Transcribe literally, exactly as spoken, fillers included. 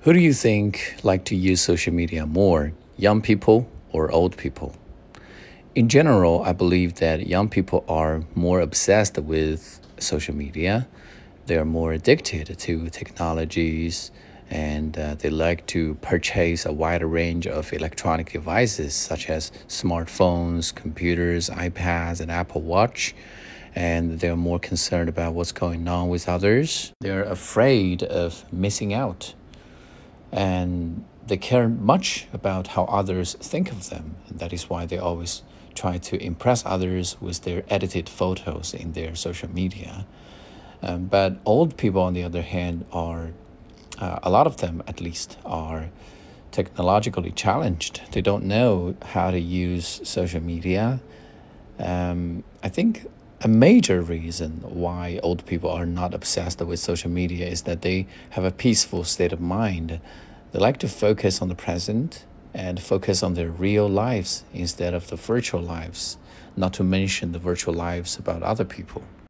Who do you think like to use social media more, young people or old people? In general, I believe that young people are more obsessed with social media. They are more addicted to technologies and uh, they like to purchase a wider range of electronic devices such as smartphones, computers, iPads, and Apple Watch. And they're more concerned about what's going on with others. They're afraid of missing out and they care much about how others think of them. And that is why they always try to impress others with their edited photos in their social media. Um, but old people, on the other hand, are, uh, a lot of them at least, are technologically challenged. They don't know how to use social media. Um, I think a major reason why old people are not obsessed with social media is that they have a peaceful state of mind. They like to focus on the present and focus on their real lives instead of the virtual lives, not to mention the virtual lives about other people.